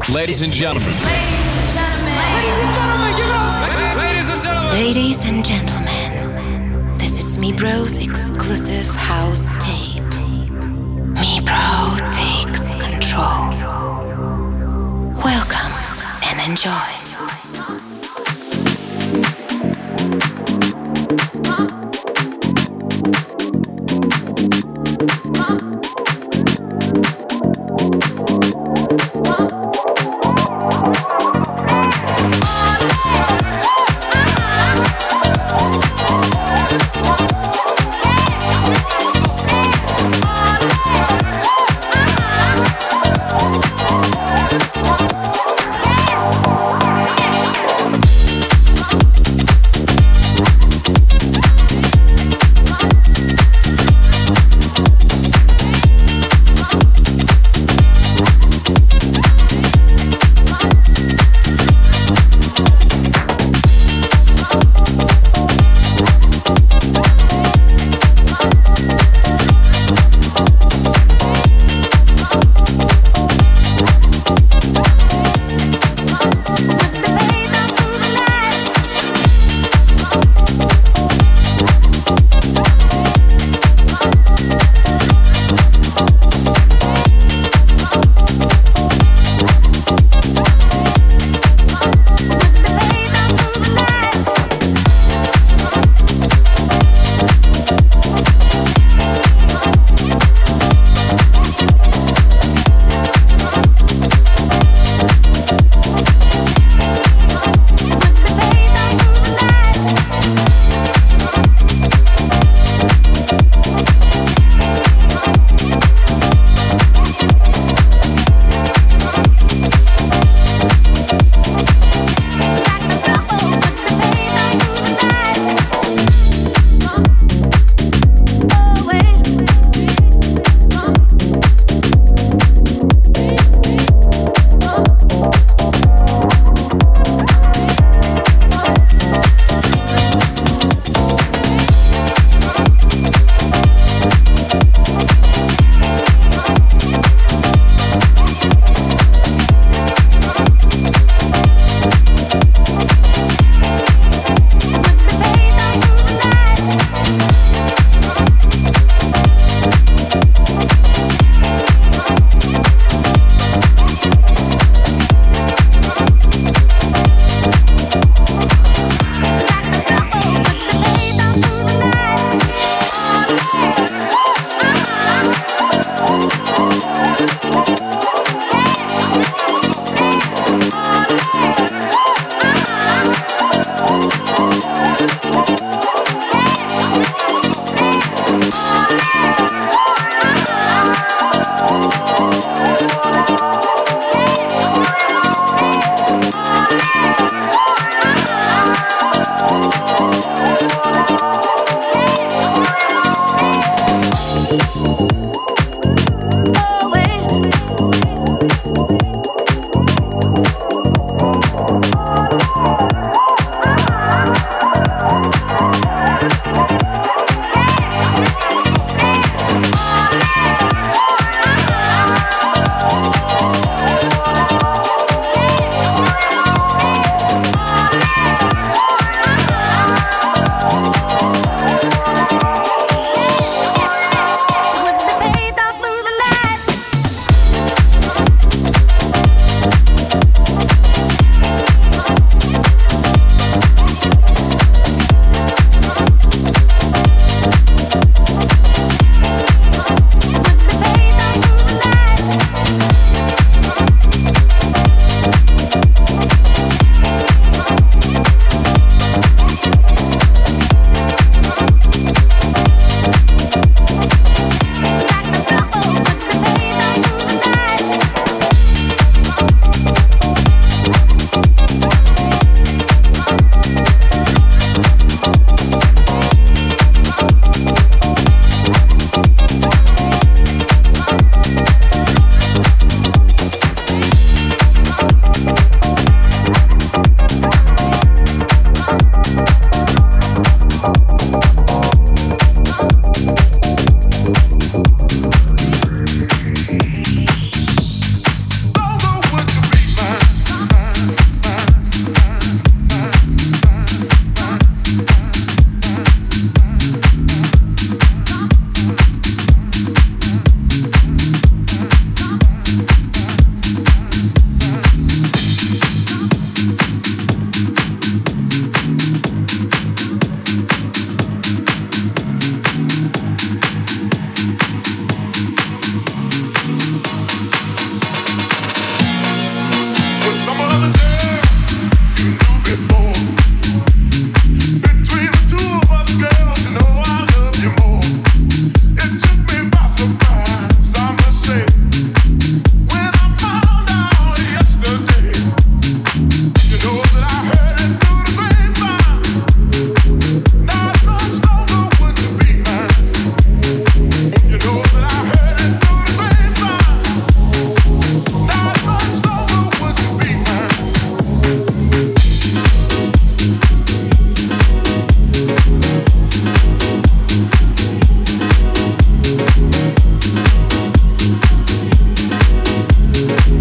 Ladies and gentlemen. Ladies and gentlemen. Ladies and gentlemen, give it up. Ladies and gentlemen. Ladies and gentlemen, this is Mibro's exclusive house tape. Mibro takes control. Welcome and enjoy.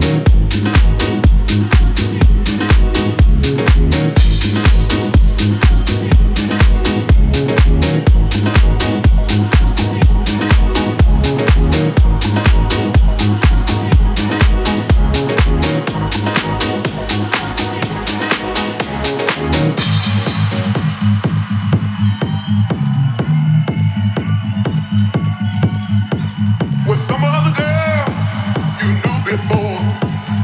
With some other girl you knew before.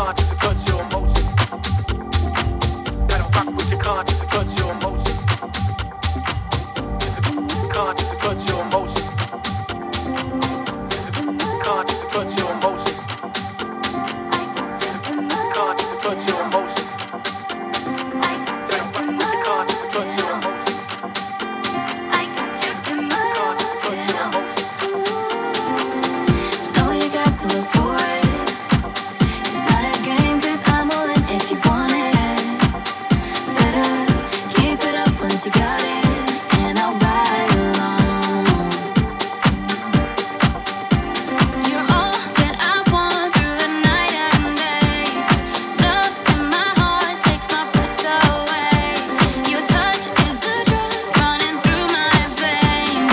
conscience and touch your emotions. Gotta rock with your conscience and touch your emotions. Is it conscious and touch your emotions? Is it conscious and touch your emotions? Is it conscious and touch your emotions? Gotta rock with your conscience and touch your emotions. Conscious and touch your emotions. Know you got to look for it. It's not a game, 'cause I'm all in if you want it. Better keep it up once you got it, and I'll ride along. You're all that I want through the night and day. Love in my heart takes my breath away. Your touch is a drug running through my veins,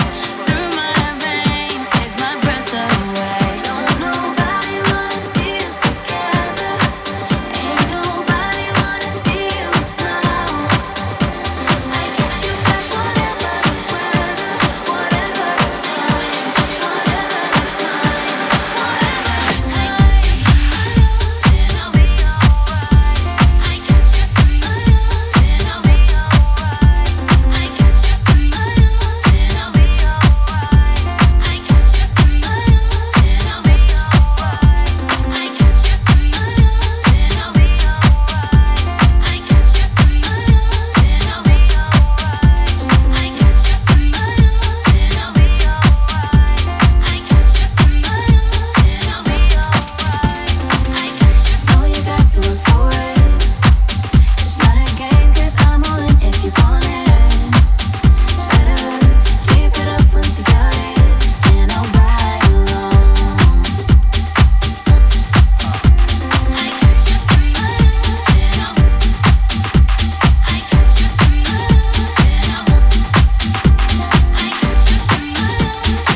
takes my breath away. Don't nobody wanna see us together. Ain't nobody wanna see you smile. I got your back, whatever the weather, whatever the time, whatever the time, whatever the time. And I'll be alright. I got you in my arms, and I'll be alright. I got you in my arms, and I'll be alright. I got you in my arms, and I'll be alright. I got you in my arms, and I'll be alright. I got you in my arms, and I'll be alright. I got you in my arms, and I'll be alright. I got you in my arms, and I'll be alright. I got you. Know you got to look for it. It's not a game, 'cause I'm all in if you want it. Better keep it up once you got it, and I'll ride along. I got you in my arms, and I got you in my arms, and I got you in my arms, and I got you in my arms,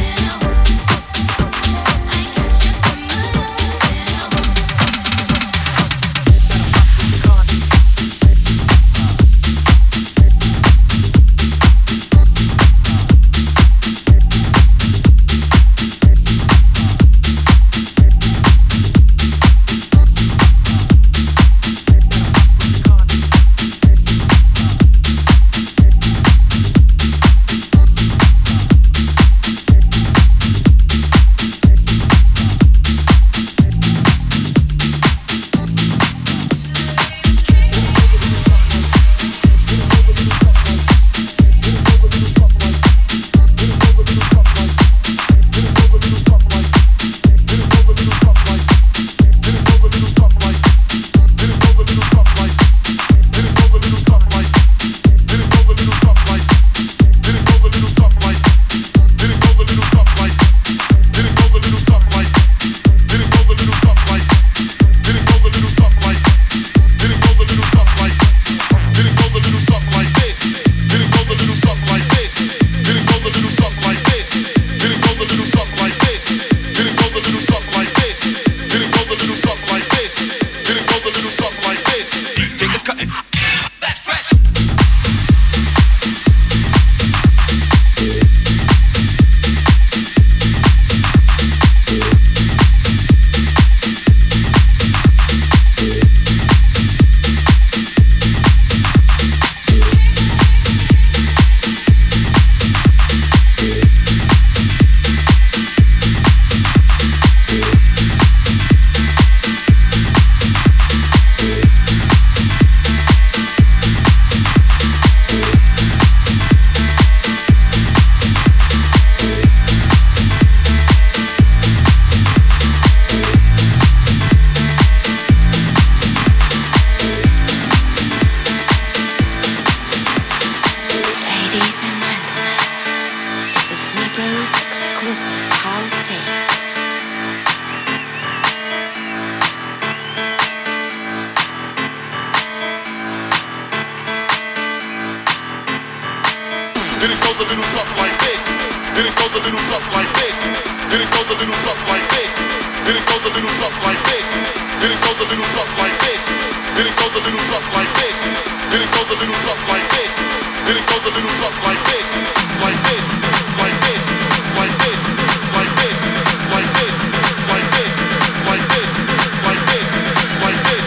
Then it goes a little something like this. Then it goes a little something like this. Then it goes a little something like this. Then it goes a little something like this. Then it goes a little something like this. Then it goes a little something like this. Then it goes a little something like this. Then it goes a little something like this. Like this. Like this. Like this. Like this. Like this. Like this. Like this. Like this. Like this.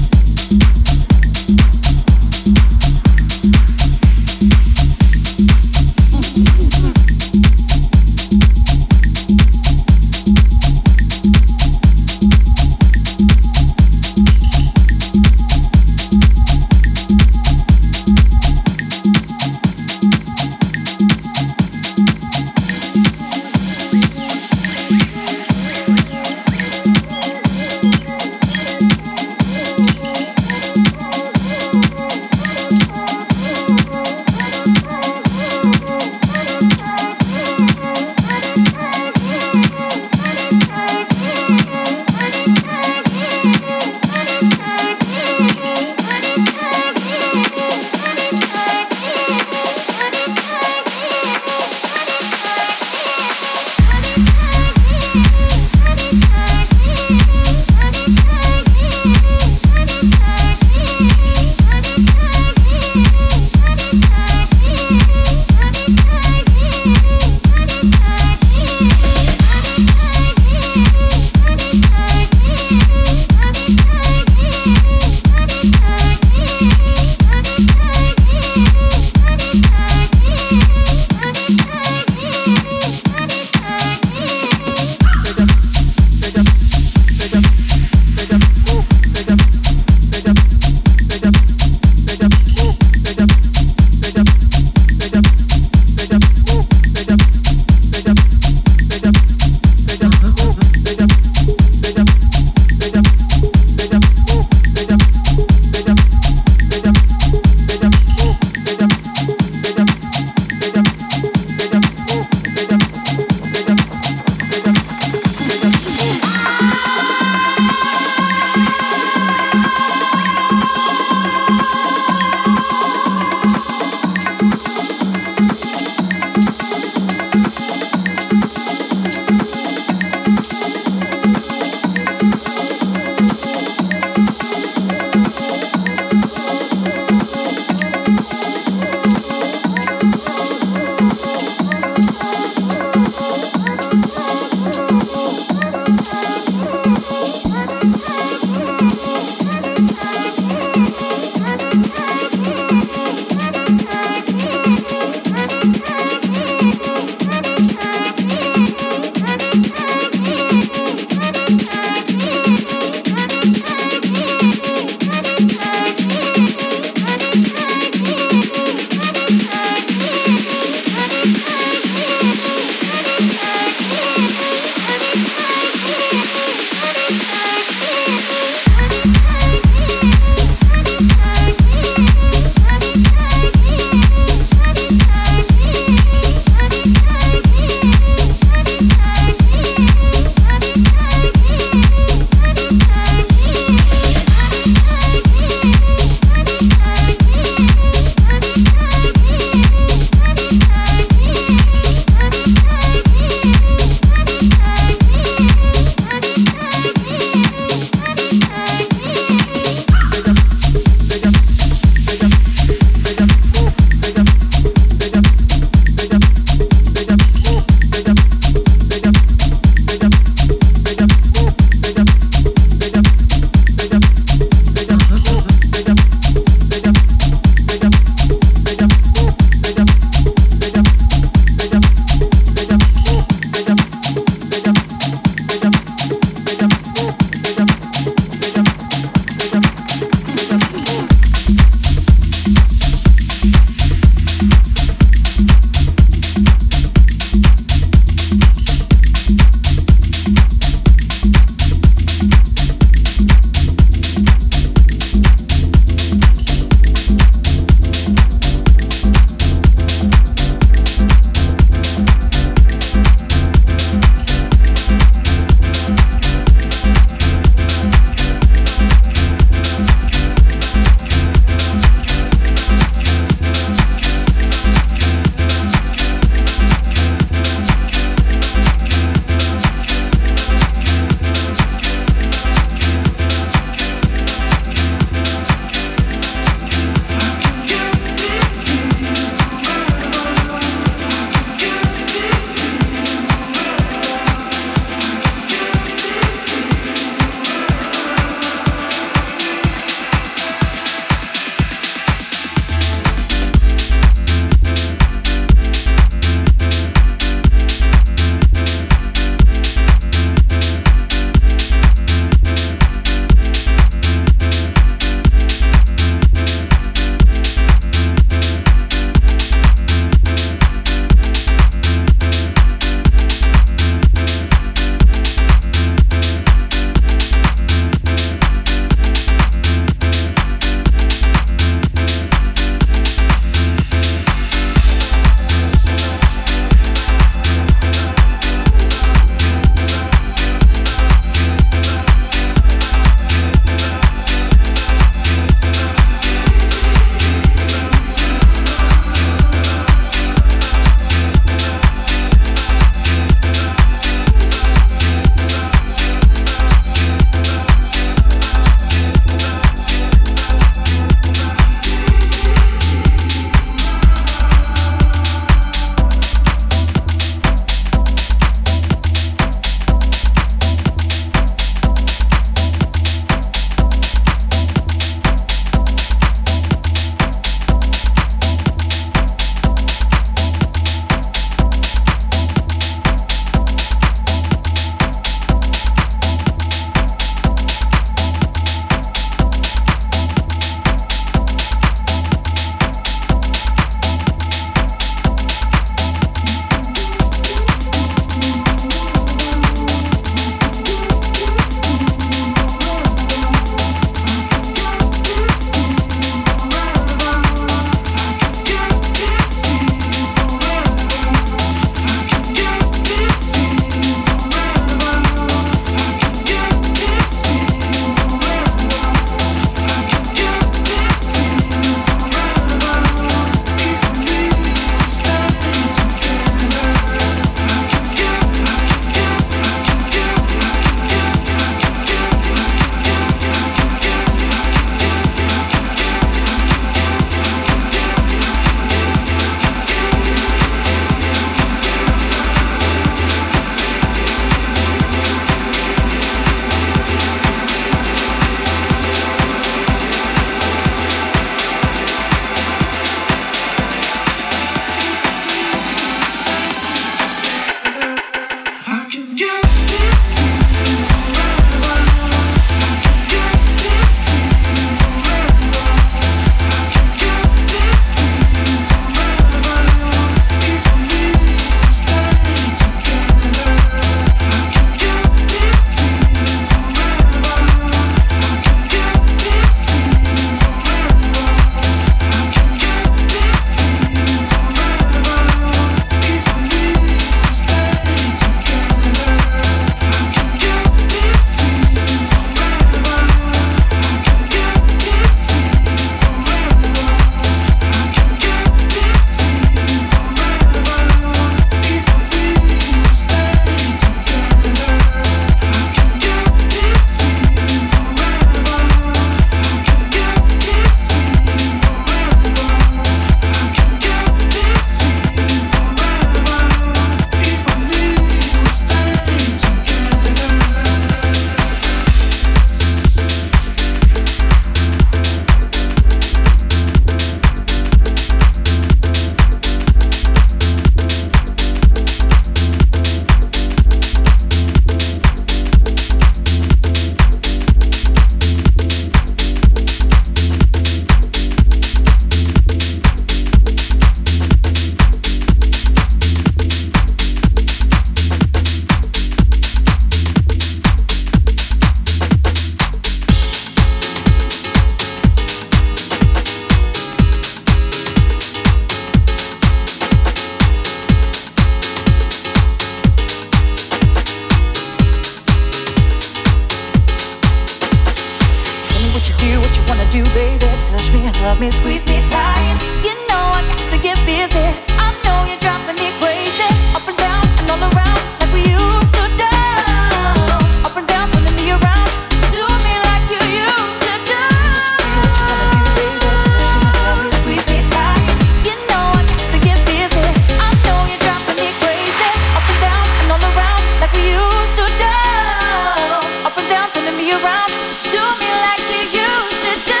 wanna do, baby. Touch me, hug me, squeeze me tight. You know I got to get busy. I know you're driving me crazy. Up and down and all around like we used to do. Up and down, turning me around. Do me like you used to do. What you wanna do, baby? Touch me, hug me, squeeze me tight. You know I got to get busy. I know you're driving me crazy. Up and down and all around like we used to do. Up and down, turning me around. Do me like you used to do.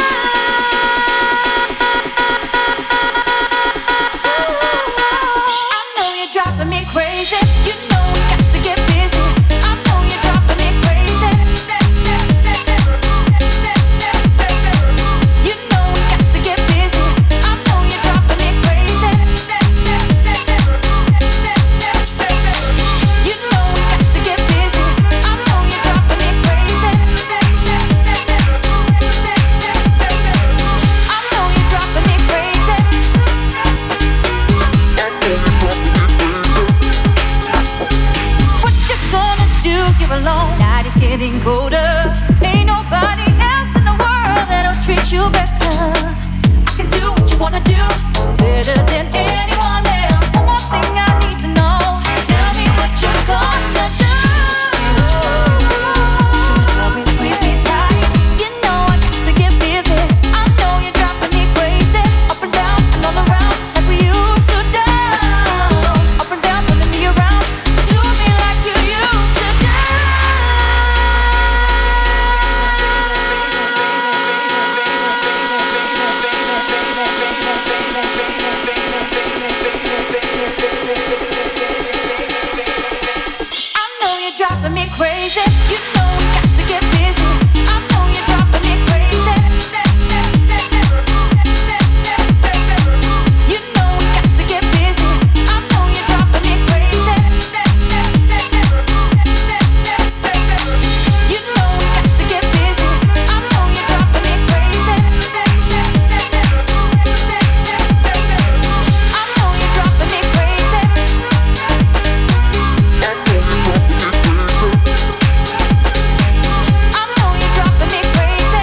I know you're driving me crazy. You know we got to get busy. I know you're driving me crazy. You know we got to get busy. I know you're driving me crazy. You know we got to get busy. I know you're driving me crazy. I know you're driving me crazy. What you gonna do? You're alone. Night is getting colder. Ain't nobody else in the world that'll treat you better. I can do what you wanna do better than anyone else. One more thing I need to know. Tell me what you're gonna do. Touch me, squeeze me tight. You know I got to get busy. I know you're driving me crazy. Up and down and all around like we used to do. Up and down, turning me around. Do me like you used to do. I know you're driving me crazy. You know we got to get busy. I know you're driving me crazy. You know we got to get busy. I know you're driving me crazy. You know we got to get busy. I know you're driving me crazy. I know you're driving me crazy. I know you're driving me crazy.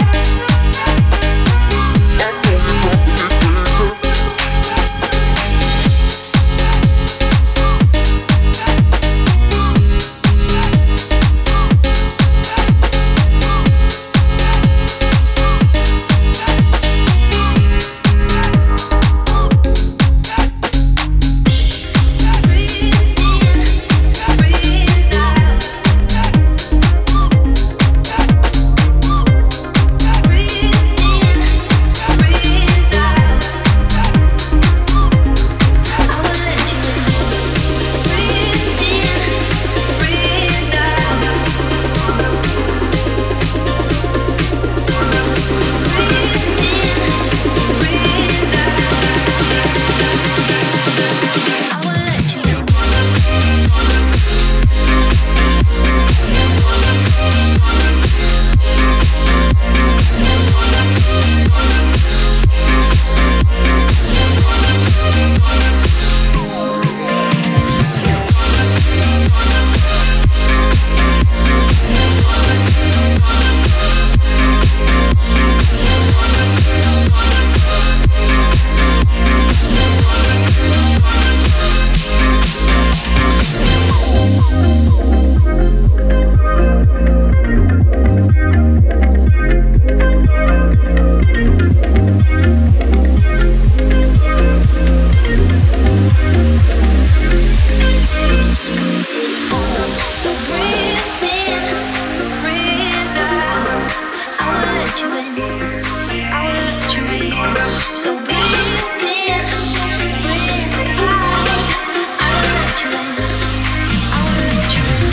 So breathe in, breathe out. I will let you in. I will let you in. So breathe in, breathe out. I will let you in. I will let you in.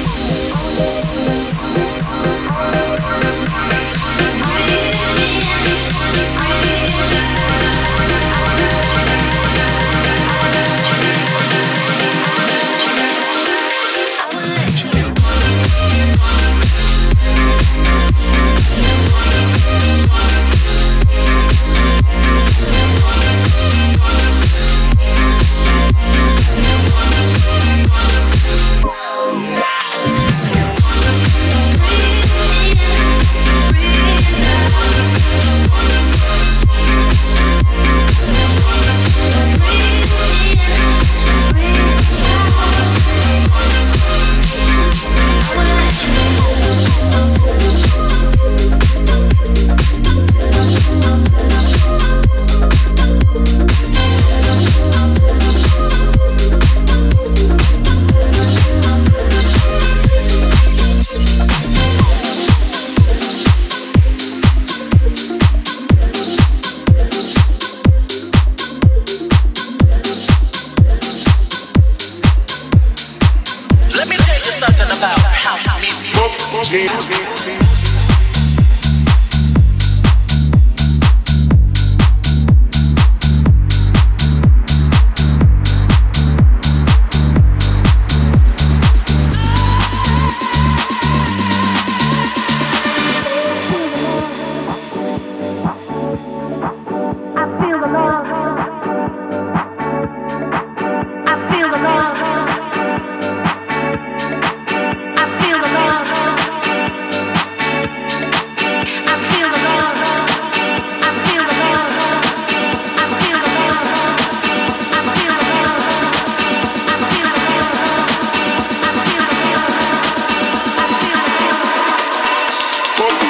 So breathe in, I will let you in. I will let you in.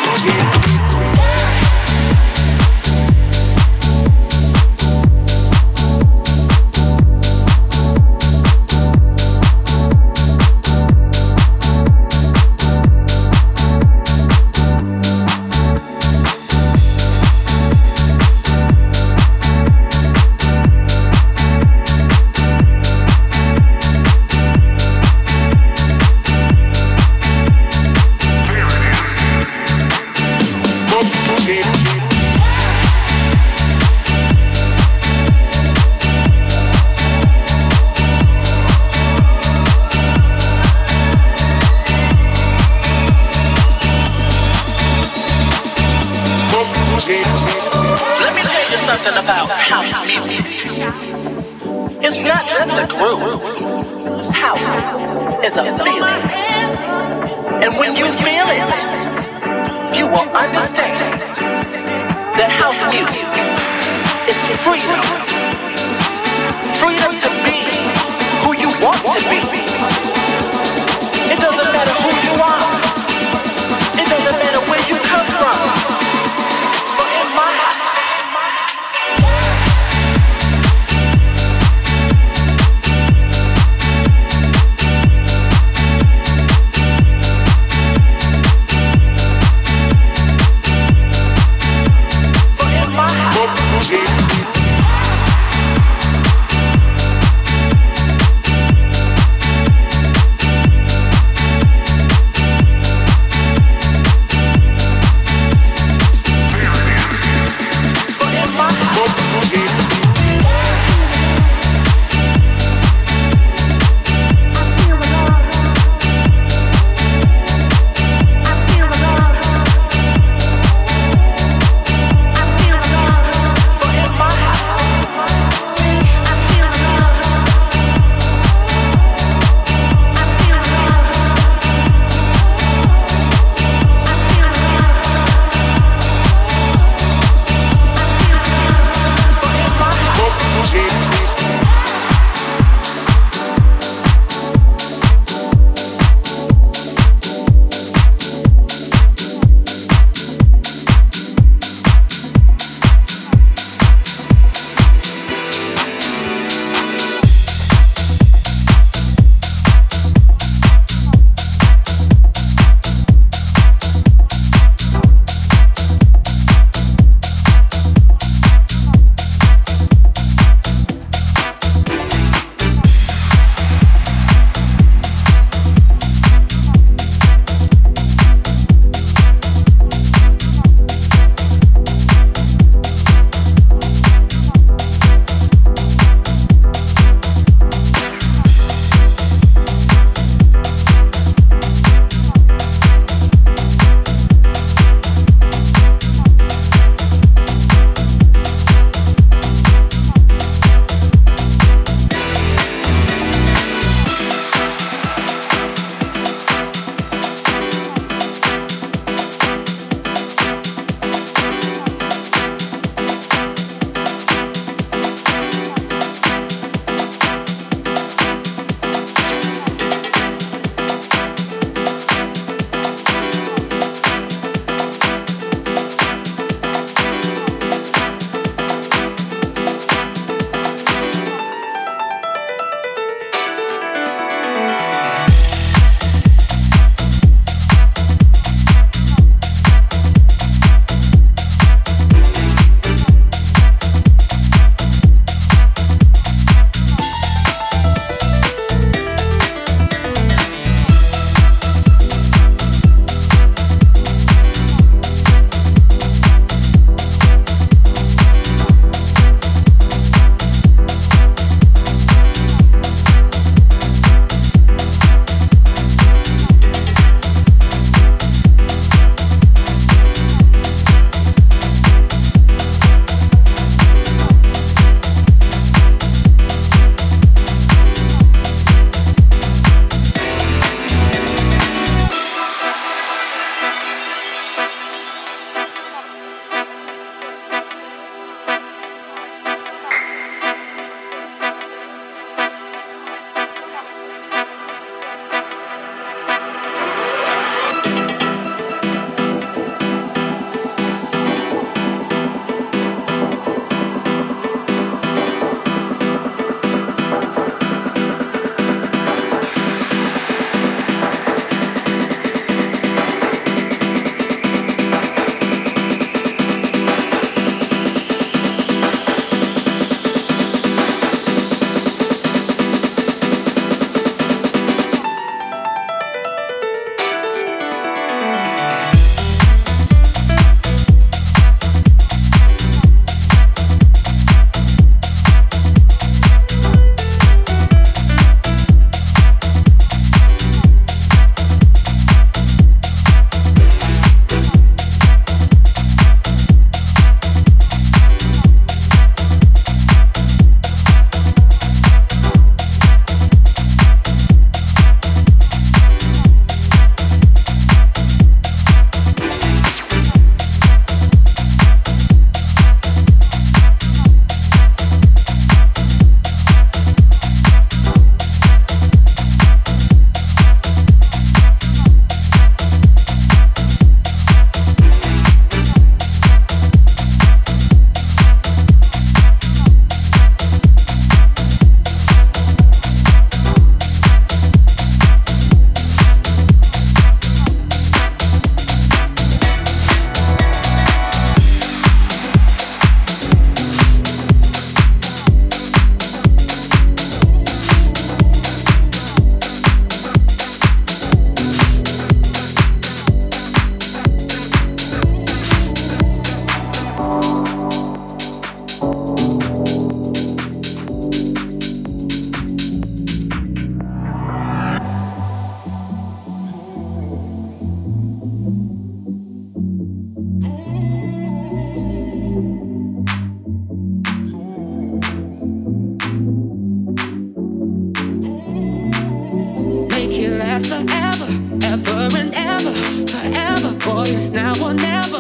Let me tell you something about house music. It's not just a groove. House is a feeling. And when you feel it, you will understand that house music is freedom. Freedom to be who you want to be. It doesn't matter who you are. It doesn't matter where you come from.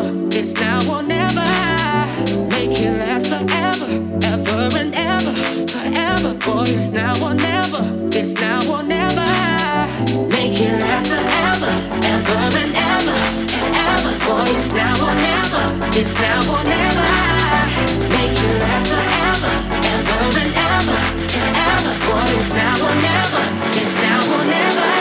It's now or never. Make it last forever, ever and ever, forever. Boy, it's now or never. It's now or never. Make it last forever, ever and ever, and ever. Boy, it's now or never. It's now or never. Make it last forever, ever and ever, and ever. Boy, it's now or never. It's now or never.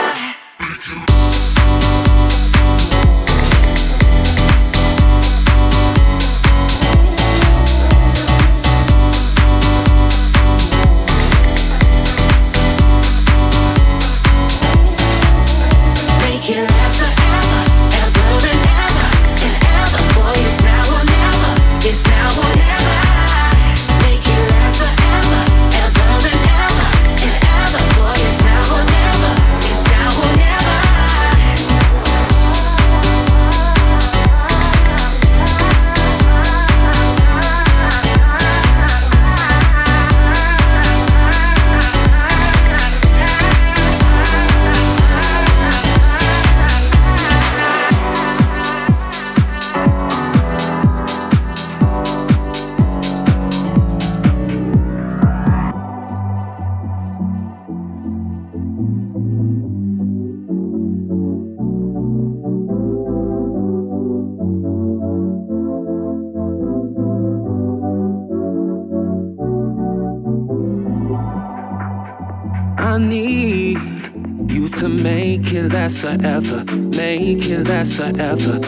I need you to make it last forever, make it last forever.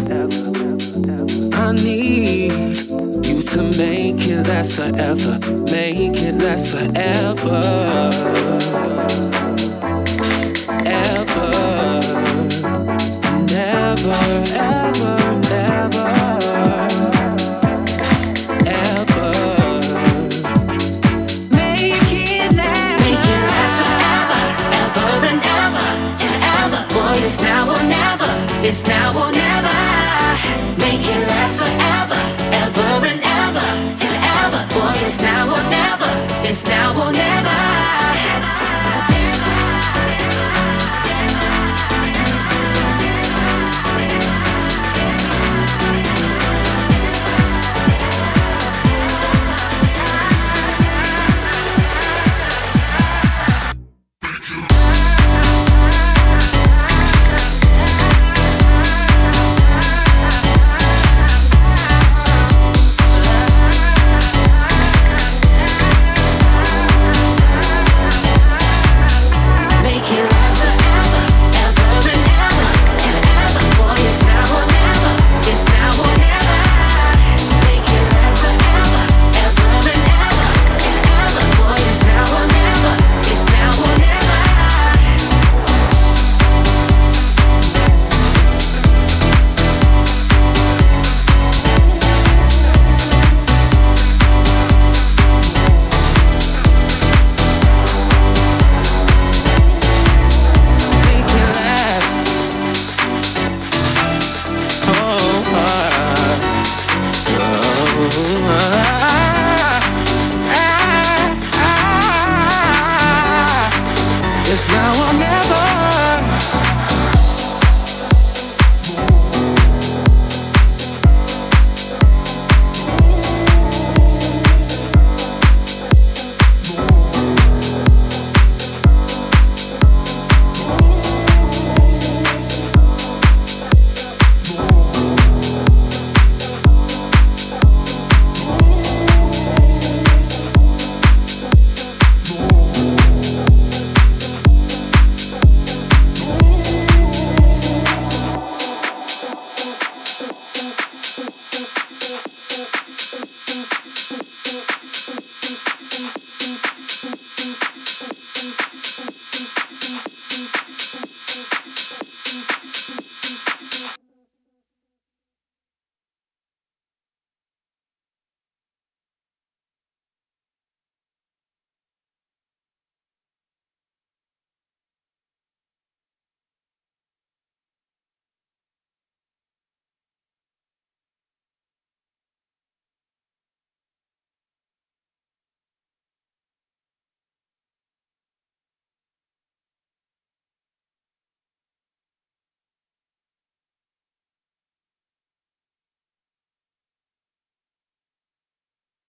I need you to make it last forever, make it last forever, ever, never, ever, never, ever. Make it last forever, ever and ever, and ever. Boy, it's now or never. It's now or never. Make it last forever, ever and ever, and ever. Boy, it's now or never. It's now or never.